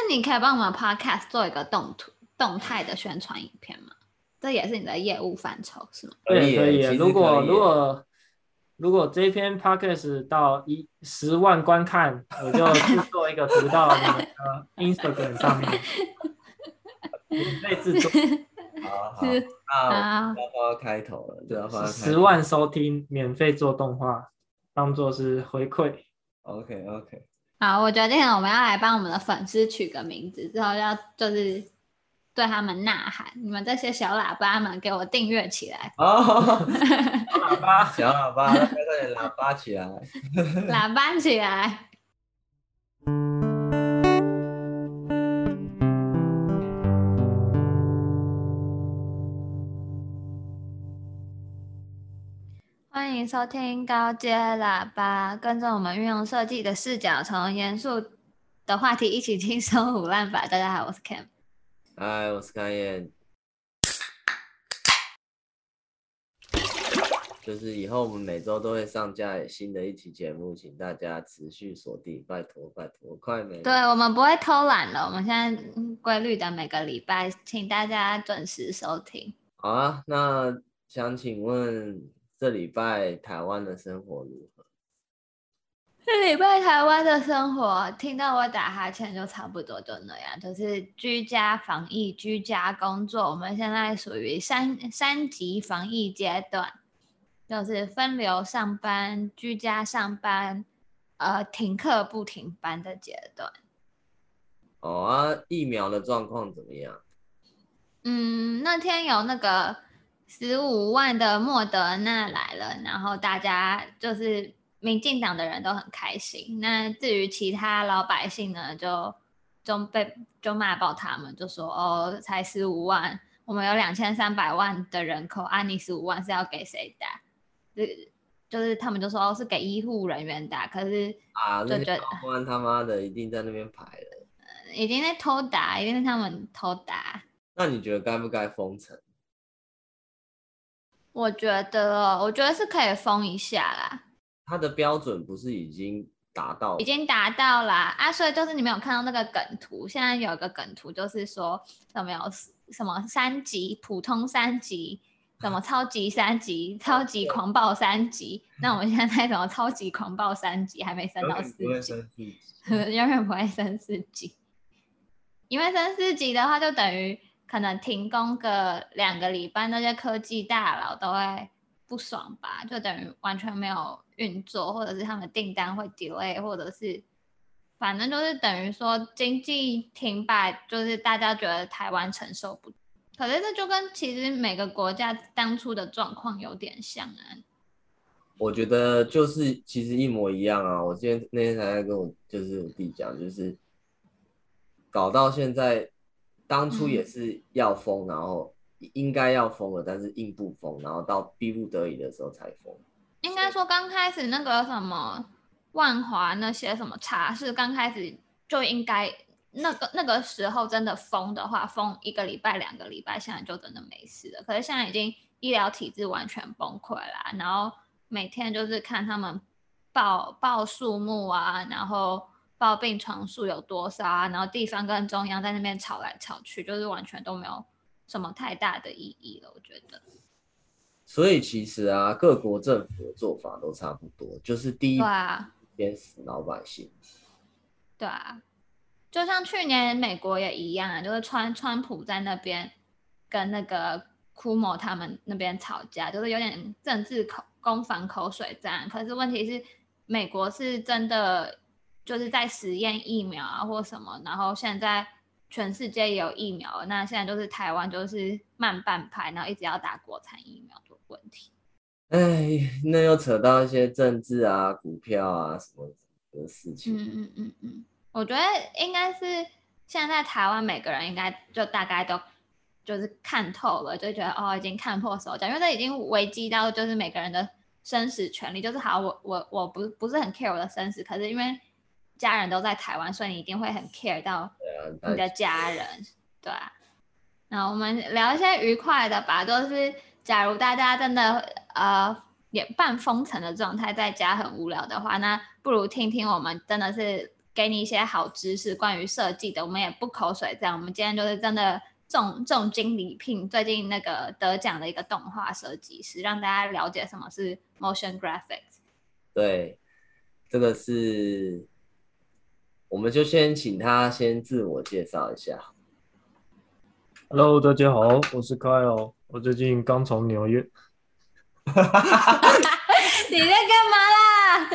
你可以幫我們 podcast 做一個動態的宣傳影片嗎？這也是你的業務範疇是嗎？ 可以。如果這篇 podcast 到10萬觀看，我就製作一個圖到你們的 Instagram 上面，免費製作。 好，那要開頭了，就要放 10萬收聽，免費做動畫，當做是回饋。 OK。 好，我決定了，我們要來幫我們的粉絲取個名字，之後就是對他們吶喊，你們這些小喇叭們給我訂閱起來。 小喇叭，快點喇叭起來， 喇叭起來。歡迎收聽高階喇叭，跟着我們運用設計的視角，從嚴肅的話題一起輕鬆唬爛吧。大家好，我是 Cam。 嗨，我是開燕。就是以後我們每周都會上架新的一期節目，請大家持續鎖定，拜託，快沒？ 對，我們不會偷懶了，我們現在規律的每個禮拜，請大家準時收聽。 好啊，那想請問這禮拜台灣的生活如何？ 這禮拜台灣的生活，聽到我打哈欠就差不多就那樣，就是居家防疫、居家工作。我們現在屬於三級防疫階段，就是分流上班、居家上班、停課不停班的階段。 疫苗的狀況怎麼樣？ 那天有那個15萬的莫德納來了，然後大家就是民進黨的人都很開心。那至於其他老百姓呢，就罵爆他們，就說才15萬，我們有2300萬的人口，你15萬是要給誰打？就是他們就說是給醫護人員打，可是就覺得高官他媽的一定在那邊排了， 已經在偷打，一定是他們偷打。那你覺得該不該封城？ 我覺得是可以封一下啦。他的標準不是已經達到？ 已經達到啦所以就是你沒有看到那個梗圖，現在有一個梗圖就是說什麼3級普通3級，什麼超級3級，超級狂暴3級。那我們現在什麼超級狂暴3級還沒升到4級，永遠不會升4級。因為升4級的話，就等於可能停工個2個禮拜，那些科技大佬都會不爽吧，就等於完全沒有運作，或者是他們訂單會 delay， 或者是反正就是等於說經濟停擺，就是大家覺得台灣承受不住。可是這就跟其實每個國家當初的狀況有點像啊。 我覺得就是其實一模一樣啊。我那天才在跟我弟講，就是搞到現在，當初也是要封，然後應該要封了，但是硬不封，然後到逼不得已的時候才封。 應該說剛開始那個什麼萬華那些什麼茶室，剛開始就應該那個時候真的封的話，封1個禮拜2個禮拜，現在就真的沒事了。可是現在已經醫療體制完全崩潰啦，然後每天就是看他們報數目啊，然後報病床數有多少啊，然後地方跟中央在那邊吵來吵去，就是完全都沒有什麼太大的意義了，我覺得。 所以其實各國政府的做法都差不多，就是第一鞭死老百姓。 對啊，就像去年美國也一樣就是川普在那邊跟那個庫莫他們那邊吵架，就是有點政治攻防口水戰。可是問題是，美國是真的就是在實驗疫苗或什麼，然後現在全世界也有疫苗了，那現在就是台灣就是慢半拍，然後一直要打國產疫苗的問題。 那又扯到一些政治股票什麼的事情。 我覺得應該是現在台灣每個人應該就大概都就是看透了，就覺得已經看破手腳，因為這已經危及到就是每個人的生死權利。就是好，我不是很 care 我的生死，可是因為家人都在台灣，所以你一定會很 care 到你的家人，對啊。那我們聊一些愉快的吧，就是假如大家真的也半封城的狀態，在家很無聊的話，那不如聽聽我們真的是給你一些好知識關於設計的，我們也不口水這樣，我們今天就是真的重金禮聘最近那個得獎的一個動畫設計師，讓大家了解什麼是 motion graphics。 對，這個是，我們就先請他先自我介紹一下。 Hello， 大家好，我是 Kyle， 我最近剛從紐約。 你在幹嘛啦？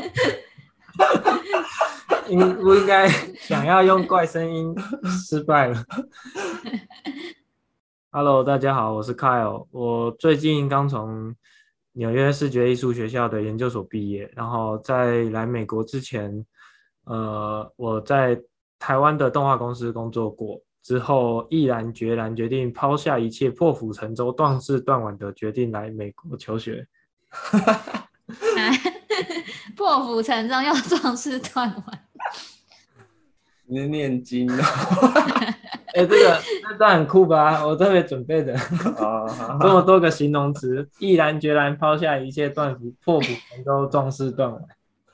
不應該想要用怪聲音，失敗了。Hello， 大家好，我是 Kyle， 我最近剛從紐約視覺藝術學校的研究所畢業，然後在來美國之前，我在台灣的動畫公司工作過。之後毅然決然決定拋下一切，破釜沉舟，斷矢斷腕的決定來美國求學。 破釜沉舟又壯士斷腕， 你是念經哦？ 這段很酷吧？我特別準備的，這麼多個形容詞，毅然決然拋下一切，破釜沉舟，壯士斷腕。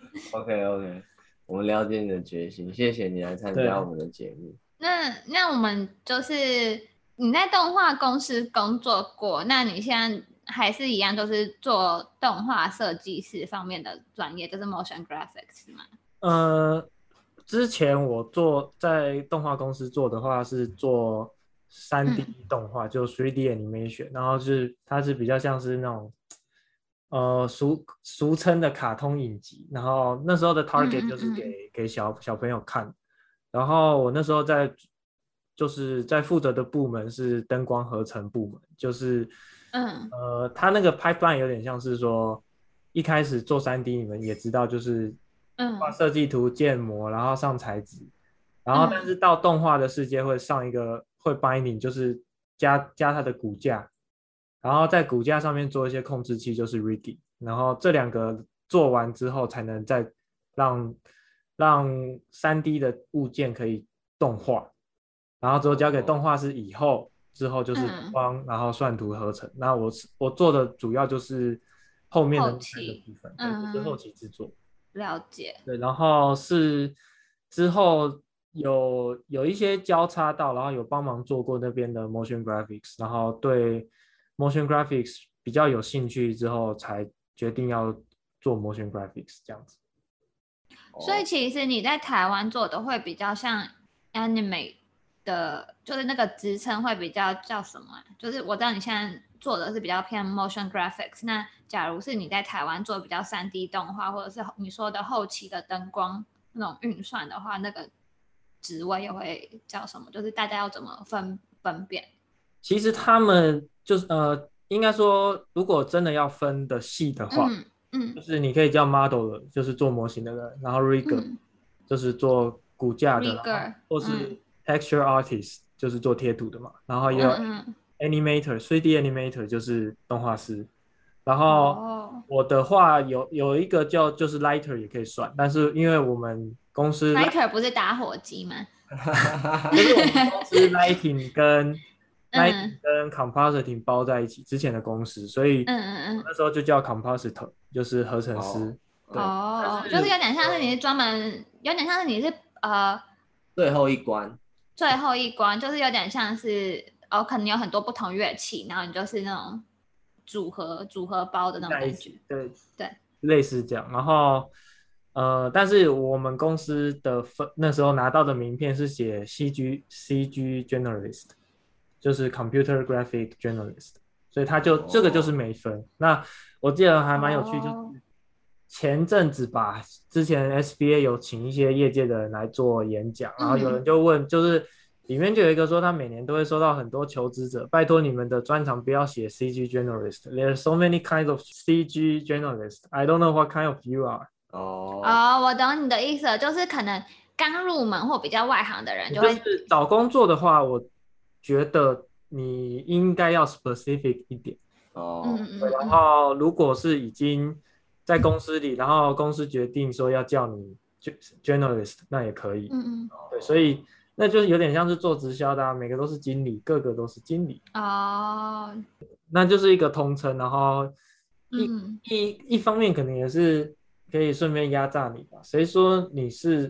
OK， 我們了解你的決心，謝謝你來參加我們的節目。 那我們就是你在動畫公司工作過，那你現在還是一樣，就是做動畫設計師方面的專業，就是 motion graphics 嗎？ 之前我在動畫公司做的話是做 3D 動畫，就 3D animation， 然後它是比較像是那種俗稱的卡通影集，然後那時候的 target 就是給小朋友看。然後我那時候在負責的部門是燈光合成部門，就是他那個 pipeline 有點像是說，一開始做 3D 你們也知道，就是畫設計圖、建模，然後上材質，然後但是到動畫的世界會上一個會 binding， 就是加它的骨架，然後在骨架上面做一些控制器，就是 rigging， 然後這2個做完之後才能再讓 3D 的物件可以動畫，然後之後交給動畫師之後就是光，然後算圖合成。那我做的主要就是後面的部分，就是後期制作。 了解。 對，然後是之後有一些交叉到，然後有幫忙做過那邊的 motion graphics， 然後对 motion graphics 比較有興趣之後，才決定要做 motion graphics 這樣子。 所以其實你在台灣做的會比較像 anime 的，就是那個職稱會比較叫什麼？就是我知道你現在做的是比較偏 motion graphics， 那假如是你在台灣做比較 3D 動畫，或者是你說的後期的燈光那種運算的話，那個職位又會叫什麼？就是大家要怎麼分辨？ 其實他們就是應該說，如果真的要分的細的話，就是你可以叫 model， 就是做模型的人，然後 rigger，就是做骨架的，或是 texture artist，就是做貼圖的嘛，然後也有 animator，3D animator 就是動畫師，然後我的話有一個就是 lighter 也可以算，但是因為我們公司 lighter 不是打火機嗎？ 就是我們公司 lighting 跟compositing 包在一起，之前的公司，所以那時候就叫 compositor， 就是合成師。 就是有點像是你是专门，有點像是你是最後一關， 就是有點像是可能有很多不同樂器，然後你就是那種組合包的那種感觉。 对，類似這樣。然後但是我們公司的那時候拿到的名片是寫 CG Generalist， 就是 Computer Graphic Journalist， 所以這個就是沒分。那我記得還蠻有趣，就是前陣子吧，之前 SBA 有請一些業界的人來做演講，然後有人就問，就是裡面就有一個說，他每年都會收到很多求職者，拜託你們的專長不要寫 CG Generalist， There are so many kinds of CG Generalist. I don't know what kind of you are. 我懂你的意思了，就是可能剛入门或比較外行的人就是找工作的話，我覺得你應該要 specific 一點。然後如果是已經在公司裡，然後公司決定說要叫你 journalist， 那也可以。对，所以那就是有點像是做直銷的每個都是經理，個個都是經理。那就是一個通稱，然後一方面可能也是可以順便壓榨你吧。誰說你是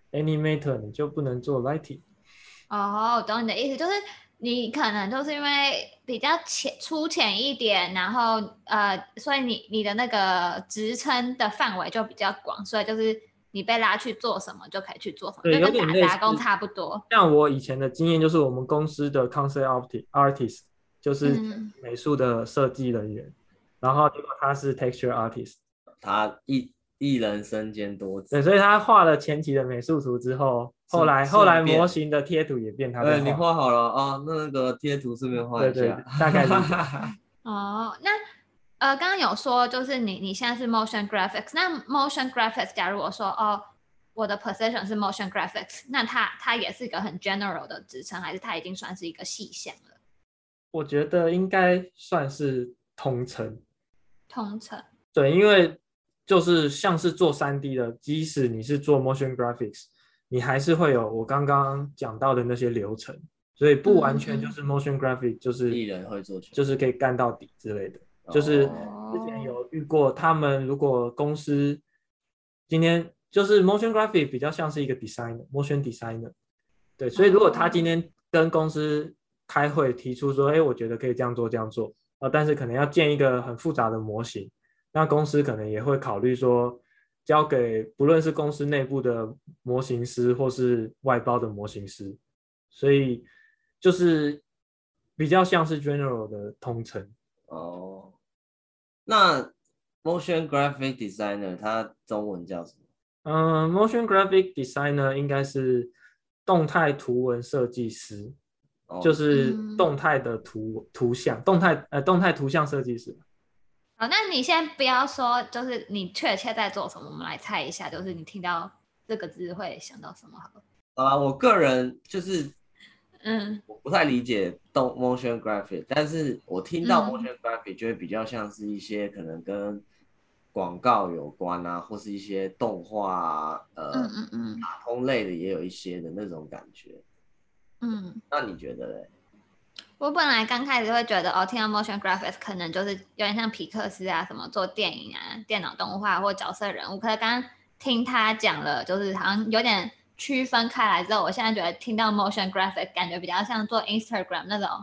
animator，你就不能做 lighting。 哦，懂你的意思，就是你可能就是因为比较粗浅一點，然後所以你的那個職稱的範圍就比較廣，所以就是你被拉去做什麼就可以去做什麼， 對， 就跟打工差不多。 像我以前的經驗就是我們公司的 concept artist 就是美術的設計人員，然後結果他是 texture artist， 他一人身兼多職。 對，所以他畫了前期的美術圖之後，後來模型的貼圖也變他在畫。 你畫好了啊，那個貼圖順便畫一下。 對，大概是。 哦，那剛剛有說就是你現在是 motion graphics， 那 motion graphics 假如我說我的 position 是 motion graphics， 那它也是一個很 general 的職稱，還是它已經算是一個細項了？ 我覺得應該算是通稱。 通稱。對， 因為就是像是做 3D 的，即使你是做 motion graphics， 你還是會有我剛剛講到的那些流程，所以不完全就是 motion graphics 就是藝人會做， 就是可以幹到底之類的。就是之前有遇過，他們如果公司今天就是 motion graphics 比較像是一個 motion designer， 對，所以如果他今天跟公司開會提出說，我覺得可以這樣做，但是可能要建一個很複雜的模型，那公司可能也會考慮說，交給不論是公司內部的模型師或是外包的模型師，所以就是比較像是 general 的通稱。 哦，那 motion graphic designer 它中文叫什麼 ？motion graphic designer 應該是動態圖文設計師，就是動態的圖像，動態圖像設計師。 好，那你先不要說，就是你確切在做什麼，我們來猜一下，就是你聽到這個字會想到什麼好了？ 我個人就是，我不太理解motion graphic， 但是我聽到 motion graphic 就會比較像是一些可能跟廣告有關啊，或是一些動畫啊，卡通類的也有一些的那種感覺。那你覺得嘞？ 我本來剛開始會覺得聽到 motion graphics 可能就是有點像皮克斯啊，什麼做電影啊、電腦動畫或角色人物。可是剛剛聽他講了，就是好像有點區分開來之後，我現在覺得聽到 motion graphics 感覺比較像做 Instagram 那種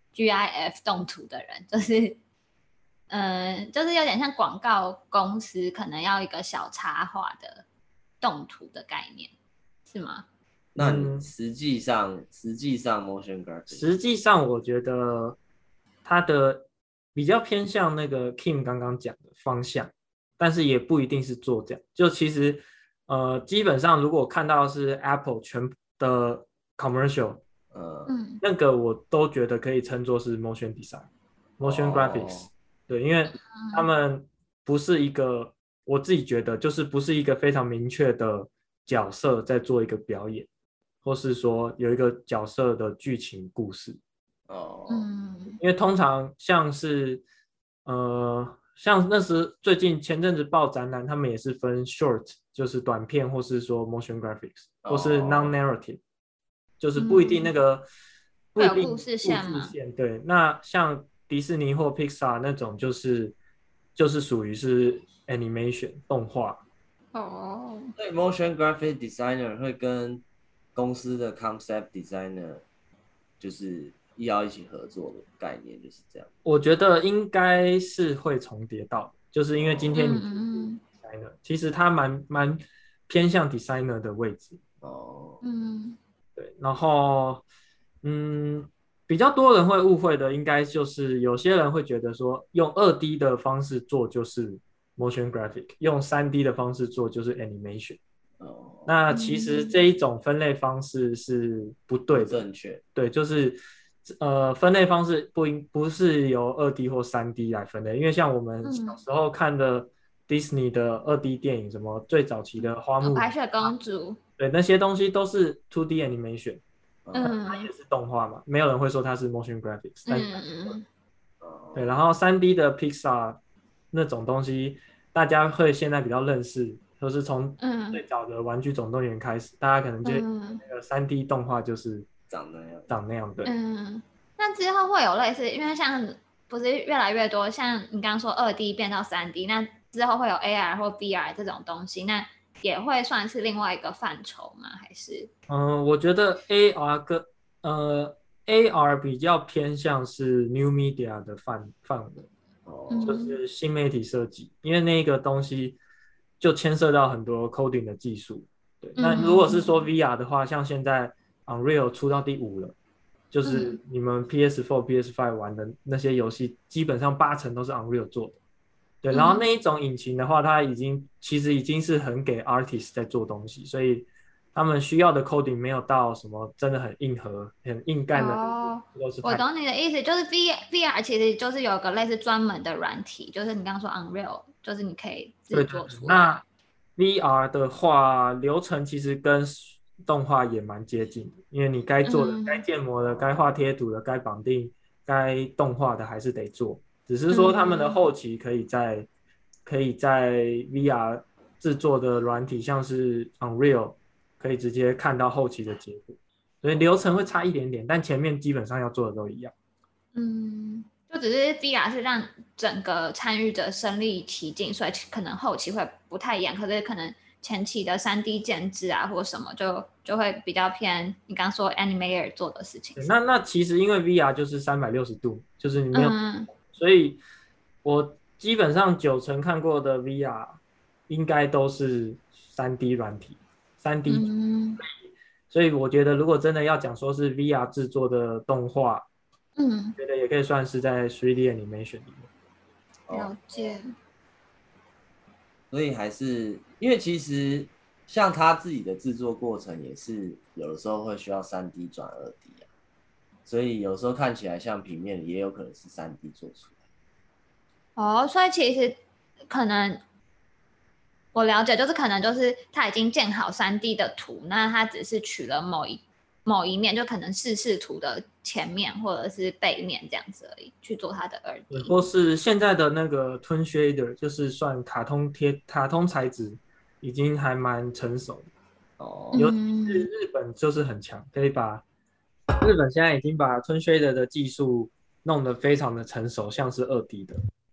GIF 動圖的人，就是就是有點像廣告公司可能要一個小插畫的動圖的概念，是嗎？ 那你實際上 motion graphic 實際上我覺得它的比較偏向那個 Kim 剛剛講的方向，但是也不一定是做這樣。就其實基本上如果看到是 Apple 全的 commercial，那個我都覺得可以稱作是 motion design、motion graphics。對，因為他們不是一個，我自己覺得就是不是一個非常明確的角色在做一個表演。或是說有一個角色的劇情故事，因為通常像是像那時最近前陣子報展覽，他們也是分 short 就是短片，或是說 motion graphics，或是 non-narrative，就是不一定那個不一定故事線嘛。 對，那像迪士尼或 Pixar 那種就是屬於是 animation 動畫。 對 ，motion graphic designer 會跟公司的 concept designer 就是要一起合作的概念，就是這樣。我覺得應該是會重疊到，就是因為今天你是 designer，其實他蠻偏向 designer 的位置。對，然後比較多人會誤會的，應該就是有些人會覺得說，用2D 的方式做就是 motion graphic， 用3D 的方式做就是 animation。那其實這一種分類方式是不對的， 正確。 對，就是分類方式不是由2D 或3D 來分類，因為像我們小時候看的 Disney 的2D 電影，什麼最早期的花木蘭、 白雪公主， 對，那些東西都是 2D animation，它也是動畫嘛，沒有人會說它是 motion graphics，對，然後3D 的 Pixar 那種東西，大家會現在比較認識。就是從最早的玩具總動員開始，大家可能就那個3D 動畫就是長那樣，對。 那之後會有類似，因為像不是越來越多，像你剛剛說2D 變到3D，那之後會有 AR 或 VR 這種東西，那也會算是另外一個範疇嗎？還是？ 我覺得 AR 比較偏向是 New Media 的範圍，就是新媒體設計，因為那個東西就牽涉到很多 coding 的技術。對，那如果是說 VR 的話，像現在 Unreal 出到第5了，就是你們 PS4、PS5 玩的那些遊戲，基本上80%都是 Unreal 做的。對，然後那一種引擎的話，它其實已經是很給 artist 在做東西，所以他們需要的 coding 沒有到什麼真的很硬核、很硬幹的。 我懂你的意思，就是 VR 其實就是有個類似專門的軟體，就是你剛剛說 Unreal，就是你可以自己做出来。 那 VR 的話，流程其實跟動畫也蠻接近的，因為你該做的、該建模的、該畫貼圖的、該綁定、該動畫的還是得做。只是說他們的後期可以在 VR 制作的軟體，像是 Unreal， 可以直接看到後期的結果，所以流程會差一點點，但前面基本上要做的都一樣。 就只是 VR 是讓整個參與者身臨其境，所以可能後期会不太一樣，可是可能前期的3D 建制啊或什麼就會比較偏你剛剛說 Animator 做的事情。 那其實因為 VR 就是360度，就是你沒有。所以我基本上90%看過的 VR 應該都是 3D 軟體，3D。所以我覺得如果真的要講說是 VR 制作的動畫，覺得也可以算是在 3D Animation 裡面。 了解。 所以還是因為其實像他自己的制作過程也是有的時候會需要3D 轉2D 啊。所以有时候看起來像平面，也有可能是3D 做出来。所以其實可能我了解，就是可能就是他已經建好3D 的圖，那他只是取了某一面，就可能示圖的前面或者是背面這樣子而已，去做他的2D。 或是現在的那個 Toon Shader， 就是算卡通材質，已經還蠻成熟的。尤其是日本就是很強，可以把。日本現在已經把 Toon Shader 的技術弄得非常的成熟，像是2D 的。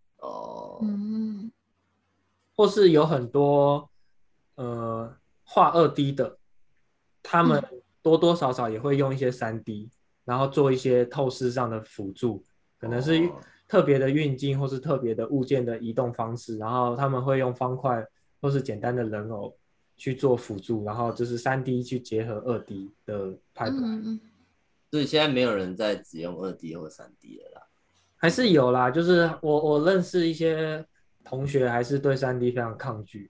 或是有很多畫2D 的，他們多多少少也會用一些3D，然後做一些透視上的輔助，可能是特別的運鏡或是特別的物件的移動方式，然後他們會用方塊或是簡單的人偶去做輔助，然後就是 3D 去結合2D 的拍法。 所以現在沒有人在只用2D 或3D 了啦， 還是有啦，就是我認識一些同學還是對 3D 非常抗拒。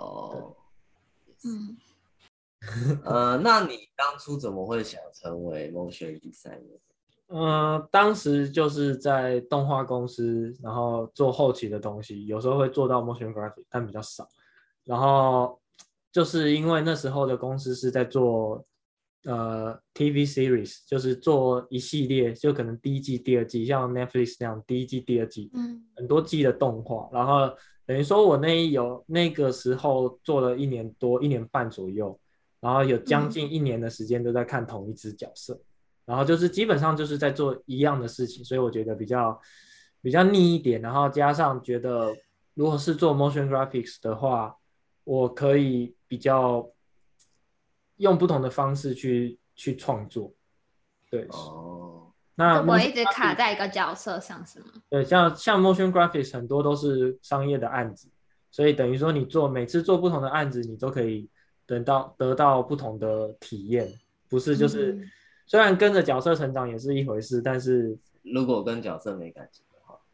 那你當初怎麼會想成為 motion designer？ 當時就是在動畫公司，然後做後期的東西，有時候會做到 motion graphic， 但比較少。然後就是因為那時候的公司是在做TV series， 就是做一系列，就可能第1季、第2季，像 Netflix 那樣第1季、第2季，很多季的動畫。然後等於說我那個時候做了1年多、1年半左右，然後有將近1年的時間都在看同一支角色，然後就是基本上就是在做一樣的事情，所以我覺得比較膩一點。然後加上覺得如果是做 motion graphics 的話，我可以比較用不同的方式去創作。对，那就不会一直卡在一個角色上是吗？ 對，像 motion graphics 很多都是商業的案子，所以等於說你每次做不同的案子，你都可以得到不同的體驗，不是就是虽然跟着角色成長也是一回事，但是如果跟角色没感情的話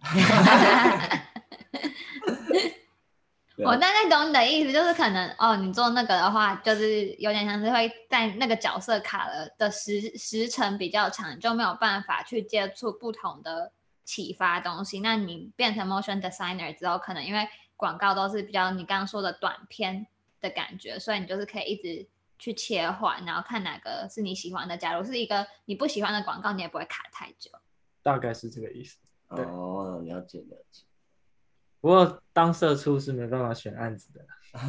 我大概懂你的意思，就是可能你做那個的話，就是有點像是會在那個角色卡了的時程比較長，就沒有辦法去接觸不同的啟發東西。那你變成 motion designer 之後，可能因為廣告都是比較你剛剛說的短片的感覺，所以你就是可以一直去切換，然後看哪個是你喜歡的。假如是一個你不喜歡的廣告，你也不會卡太久。 大概是這個意思。 了解。 不過當社畜是沒辦法選案子的。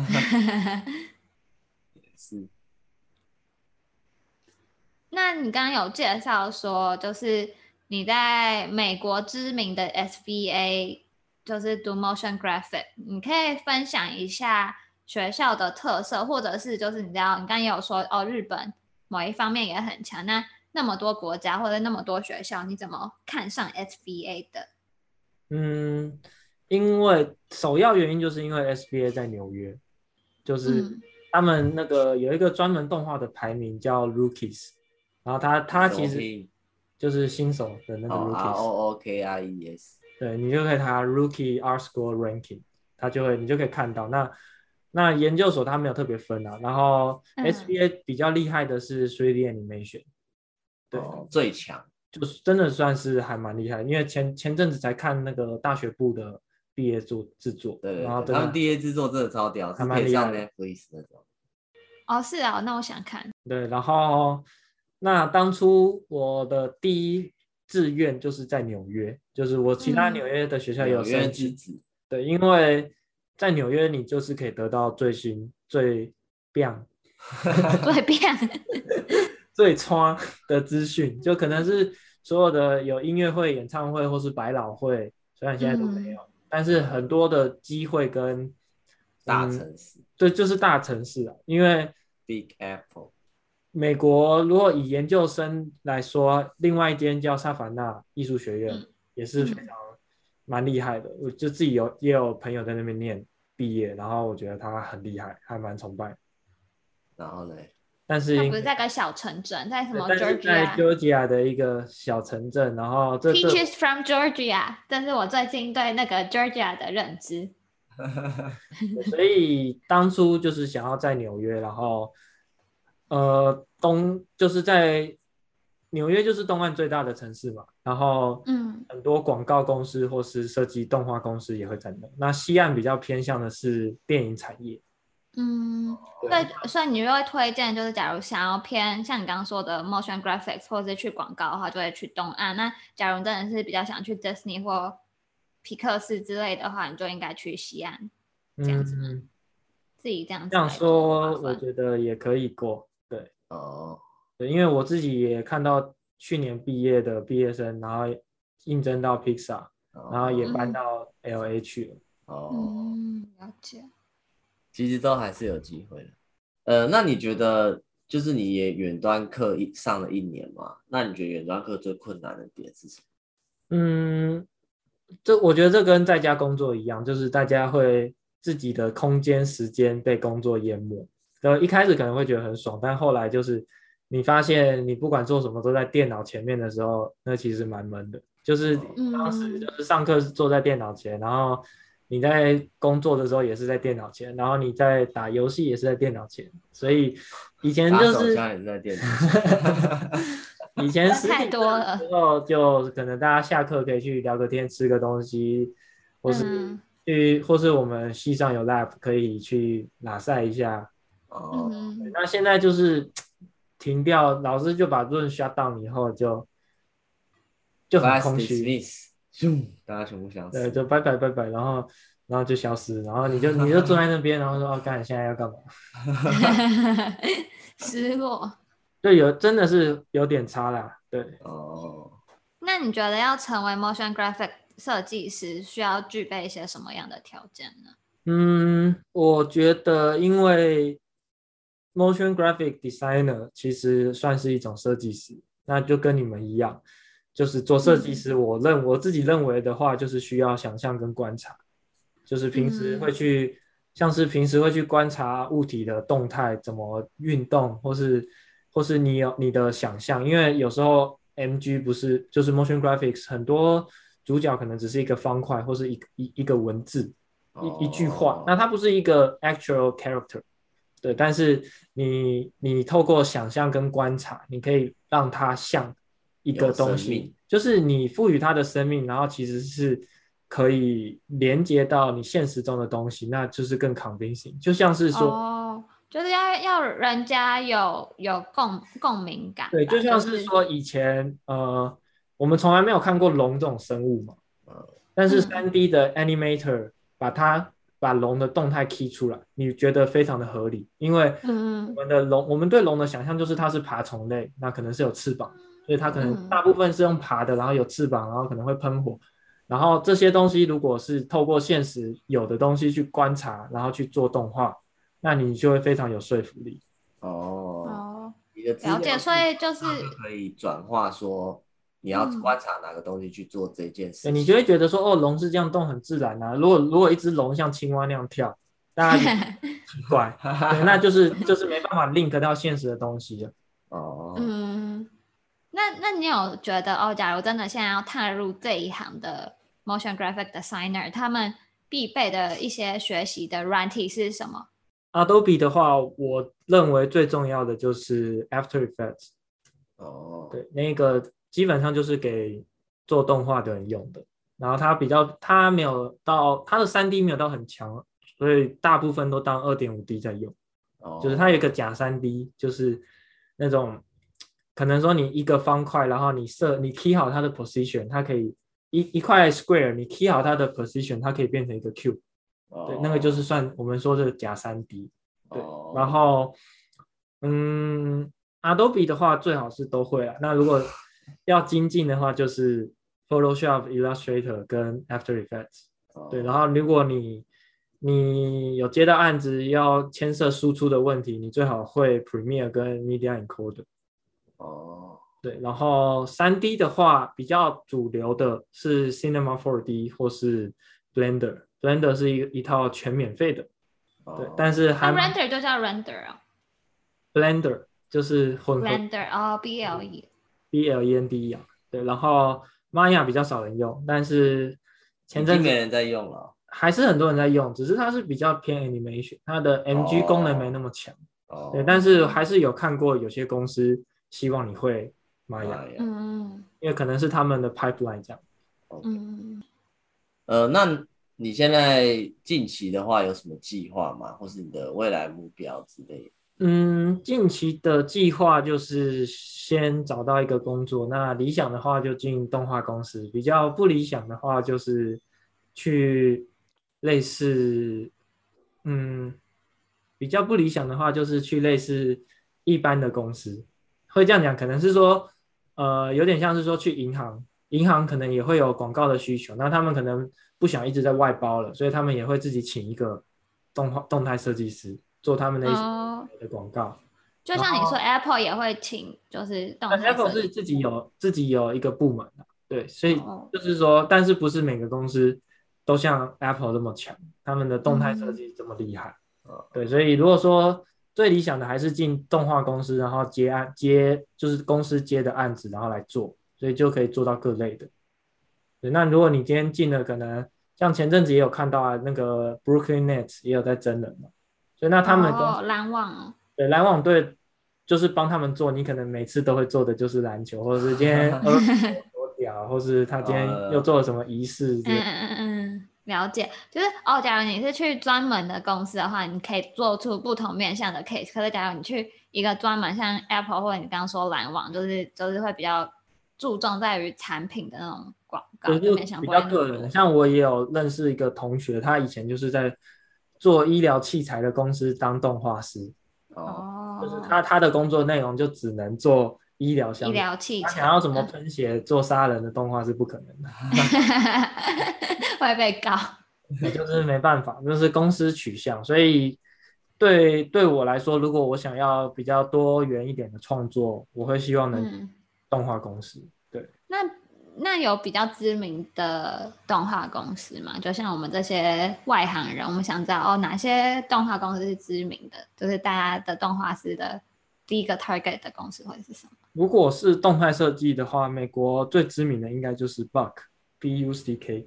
是。 那你剛剛有介紹說，就是你在美國知名的 SVA，就是讀 motion graphic， 你可以分享一下學校的特色，或者是就是你知道，你剛剛也有說哦，日本某一方面也很強，那麼多國家或者那麼多學校，你怎麼看上 SBA 的？ 因為首要原因就是因為 SBA 在紐約，就是他們那個有一個專門動畫的排名叫 Rookies， 然後他其實就是新手的那個 Rookies，ROOKIES， 对，你就可以查 Rookie Art Score Ranking， 你就可以看到。那研究所它沒有特別分啊，然後 SBA 比較厲害的是 3D Animation， 对， 最強。 就是真的算是還蠻厲害，因為前陣子才看那個大學部的畢業制作， 对， 然後他們畢業制作真的超屌，是可以上 Netflix 那種。 哦，是啊，那我想看。 对，然後那當初我的第一志願就是在紐約，就是我其他紐約的學校也有申請，對，因為在紐約你就是可以得到最新最棒最穿的資訊，就可能是所有的有音樂會、演唱會或是百老匯，雖然現在都沒有，但是很多的機會跟大城市， 對，就是大城市啊，因為 Big Apple， 美國如果以研究生來說，另外一間叫薩凡納藝術學院，也是非常蠻厲害的，我就自己也有朋友在那邊念畢業，然後我覺得他很厲害，還蠻崇拜。 然後呢？ 但是他不是在個小城鎮，在什麼 Georgia？ 在 Georgia 的一個小城鎮，然後 Peaches from Georgia， 這是我最近對那個 Georgia 的認知。 所以當初就是想要在紐約，然後就是在紐約就是東岸最大的城市嘛，然後很多廣告公司或是設計動畫公司也會在那。那西岸比較偏向的是電影產業。 所以你就會推薦，就是假如想要偏像你剛剛說的 motion graphics 或是去廣告的話，就會去東岸。那假如真的是比較想去 Disney 或皮克斯之類的話，你就應該去西岸，這樣子嗎？自己這樣子。 這樣說，我覺得也可以過。對，對，因為我自己也看到去年畢業的畢業生，然後應徵到 Pixar，然後也搬到 LA 去了。 了解。 其實都還是有機會的。那你覺得，就是你也遠端課上了1年嘛？那你覺得遠端課最困難的點是什麼？ 我覺得這跟在家工作一樣，就是大家會自己的空間時間被工作淹沒。一開始可能會覺得很爽，但後來就是你發現你不管做什麼都在電腦前面的時候，那其實蠻悶的。就是當時就是上課是坐在電腦前，然後你在工作的時候也是在電腦前，然後你在打遊戲也是在電腦前，所以以前就是打手槍也是在電腦前。 以前太多了，之後就可能大家下課可以去聊個天、吃個東西，或是我們系上有 lab 可以去拉賽一下。那現在就是停掉，老師就把論 shut down 以後就很空虛。 大家全部消失， 对，就拜拜，然後就消失，然後你就坐在那邊，然後說哦，幹，現在要幹嘛？ 失落。 對，真的是有點差啦，對。 那你覺得要成為 motion graphic 設計師，需要具備一些什麼樣的條件呢？ 我覺得因為 motion graphic designer 其實算是一種設計師，那就跟你們一樣。就是做設計師，我自己認為的話，就是需要想象跟觀察，就是平時會去，像是平時會去觀察物體的動態怎麼運動，或是你有你的想象，因為有時候 MG 不是就是 motion graphics， 很多主角可能只是一個方塊或是一個文字，一句話，那它不是一個 actual character， 對，但是你透過想象跟觀察，你可以讓它像一個東西，就是你賦予它的生命，然後其實是可以連接到你現實中的東西，那就是更 convincing。就像是說， 就是要人家有共鳴感。 对，就像是说以前我們從來沒有看過龍這種生物嘛，但是 3D 的 animator 把龍的動態 key 出來，你覺得非常的合理，因為我們對龍的想象就是它是爬蟲類，那可能是有翅膀。所以它可能大部分是用爬的，然後有翅膀，然後可能會噴火，然後這些東西如果是透過現實有的東西去觀察，然後去做動畫， 那你就會非常有說服力。 哦， 你的資料了解，所以就是可以轉化說你要觀察哪個東西去做這件事情， 你就會覺得說，哦，龍是這樣動很自然啊。如果一隻龍像青蛙那樣跳，大家就奇怪，對，那就是沒辦法 link 到現實的東西了。 那你有覺得哦，假如真的現在要踏入這一行的 motion graphic designer， 他們必備的一些學習的軟體是什麼？ Adobe 的話，我認為最重要的就是 After Effects。對，那個基本上就是給做動畫的人用的。然後它沒有到它的 3D 沒有到很強，所以大部分都當 2.5D 在用。就是它有一個假 3D， 就是那種可能說你一個方塊，然後你 key 好它的 position， 它可以一塊 square， 你 key 好它的 position， 它可以變成一個 cube。對，那個就是算我們說的假 3D。對，然後Adobe 的話最好是都會啦。那如果要精進的話，就是 Photoshop、Illustrator 跟 After Effects。對，然后如果你有接到案子要牽涉輸出的問題，你最好會 Premiere 跟 Media Encoder。對，然後 3D 的話比較主流的是 Cinema 4D 或是 Blender。Blender 是一套全免費的。对，但是那 Render 就叫 Render 啊。 Blender 就是混合 Blender BLEND 啊。对，然後 Maya 比較少人用，但是前陣子沒人在用了， 還是很多人在用，只是它是比較偏 animation， 它的 MG 功能沒那麼強。對，但是還是有看過有些公司希望你會 Maya， 因為可能是他們的 pipeline 這樣。 那你現在近期的話有什麼計劃嗎？或是你的未來目標之類的？ 近期的計劃就是先找到一個工作，那理想的話就進動畫公司，比較不理想的話就是去類似，比較不理想的話就是去類似一般的公司。會這樣講，可能是說，有點像是說去銀行可能也會有廣告的需求，那他們可能不想一直在外包了，所以他們也會自己請一個動態設計師做他們的一些的廣告。 就像你說 Apple 也會請就是動態設計師。 Apple 是自己有一個部門的。對，所以就是說，但是不是每個公司都像 Apple 這麼強，他們的動態設計這麼厲害。對，所以如果說最理想的還是進動畫公司，然後接就是公司接的案子，然後來做，所以就可以做到各類的。对，那如果你今天進了，可能像前陣子也有看到啊，那個 Brooklyn Nets 也有在徵人嘛，所以那他們籃網， 對，籃網隊就是幫他們做，你可能每次都會做的就是籃球，或者是今天多屌，或是他今天又做了什麼儀式。 了解，就是假如你是去專門的公司的話，你可以做出不同面向的 case。可是假如你去一個專門像 Apple 或者你剛剛說籃網，就是會比較注重在於產品的那種廣告，就面向比較個人。像我也有認識一個同學，他以前就是在做醫療器材的公司當動畫師。就是他的工作內容就只能做醫療相關，醫療器材，他想要什麼噴血做殺人的動畫是不可能的。 會被告。 就是沒辦法，就是公司取向。所以對我來說，如果我想要比較多元一點的創作，我會希望能動畫公司。對， 那有比較知名的動畫公司嗎？就像我們這些外行人，我們想知道哪些動畫公司是知名的，就是大家的動畫師的第一個 target 的公司會是什麼？ 如果是動態設計的話，美國最知名的應該就是 BUCK。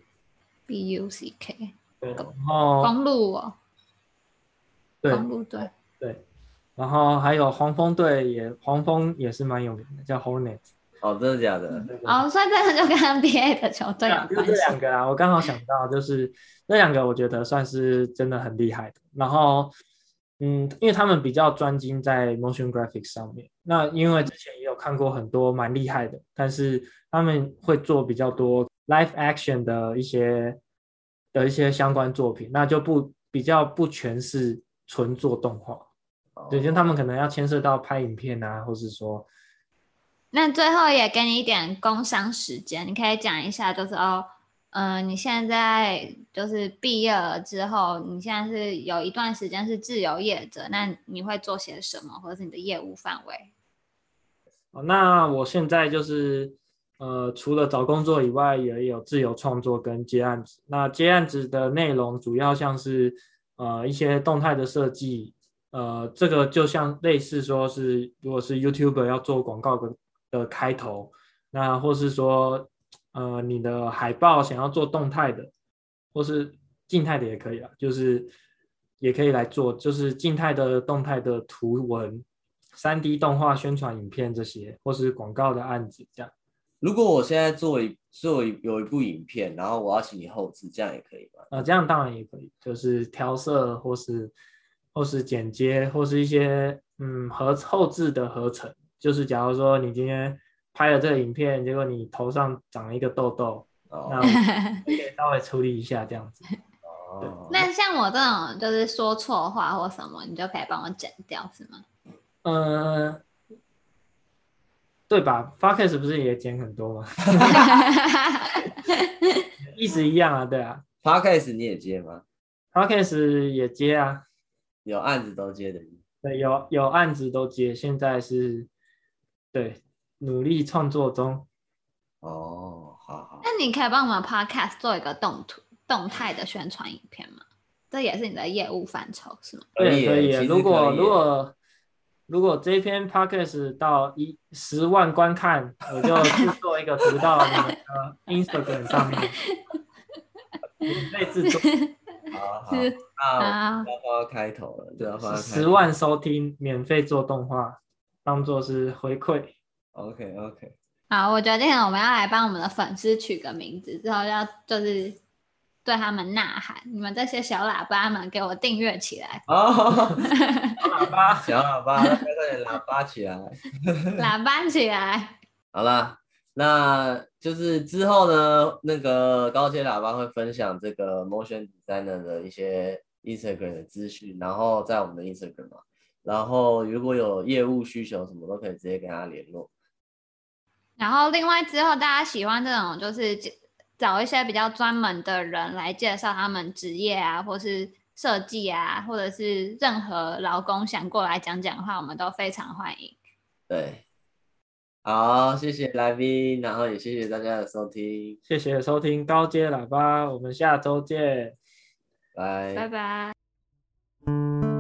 對，然後公路哦， 對， 公路隊， 對，然後還有黃蜂隊黃蜂也是蠻有名的，叫 Hornet。 真的假的？ 所以真的就跟 NBA 的球隊有關係。 就這兩個啊，我剛好想到，就是這兩個我覺得算是真的很厲害的。然後因為他們比較專精在 motion graphics 上面，那因為之前也有看過很多蠻厲害的，但是他們會做比较多 live action 的一些相關作品，那就比較不全是純做動畫。对，就他們可能要牽涉到拍影片啊，或是說。 那最後也給你一點工商時間，你可以講一下，就是你現在就是畢業了之後，你現在是有一段時間是自由業者，那你會做些什麼，或者是你的業務範圍？ 那我現在就是除了找工作以外，也有自由創作跟接案子。那接案子的內容主要像是一些動態的設計，這個就像類似說是如果是 YouTuber 要做廣告的開頭，那或是說你的海報想要做動態的，或是靜態的也可以啊，就是也可以來做，就是靜態的、動態的圖文、3D 動畫宣傳影片這些，或是廣告的案子這樣。 如果我现在有一部影片，然後我要請你後製，這樣也可以嗎？ 這樣當然也可以，就是調色或是剪接，或是一些後製的合成。就是假如說你今天拍了這個影片，結果你頭上長了一個痘痘，那我可以稍微處理一下這樣子。 那像我这種就是說錯話或什麼，你就可以幫我剪掉，是嗎？ 對吧 ？Podcast 不是也剪很多嗎？意思一樣啊，对啊。 Podcast 你也接嗎 ？Podcast 也接啊， 有案子都接的。 对，有案子都接，現在是对努力創作中。 哦，好。 那你可以幫我們 Podcast 做一個動態的宣傳影片嗎？這也是你的業務範疇是嗎？ 對，可以。如果這篇 podcast 到10萬觀看，我就製作一個圖到你們的 Instagram 上面，免費製作。 好，那要開頭了，就要放10 萬收聽，免費做動畫，當做是回饋。 OK。 好，我決定了，我們要來幫我們的粉絲取個名字，之後就是對他們吶喊，你們這些小喇叭們，給我訂閱起來！ 小喇叭，快點喇叭起來！ 喇叭起來！ 好啦，那就是之後呢，那個高階喇叭會分享這個 Motion Designer 的一些 Instagram 的資訊，然後在我們的 Instagram 嘛，然後如果有業務需求什麼都可以直接跟他聯絡。 然後另外之後大家喜歡這種就是找一些比較專門的人來介紹他們職業啊，或是設計啊，或者是任何勞工想過來講講話，我們都非常歡迎。 對，好，謝謝來賓，然後也謝謝大家的收聽， 謝謝收聽高階喇叭，我們下周見， 拜拜。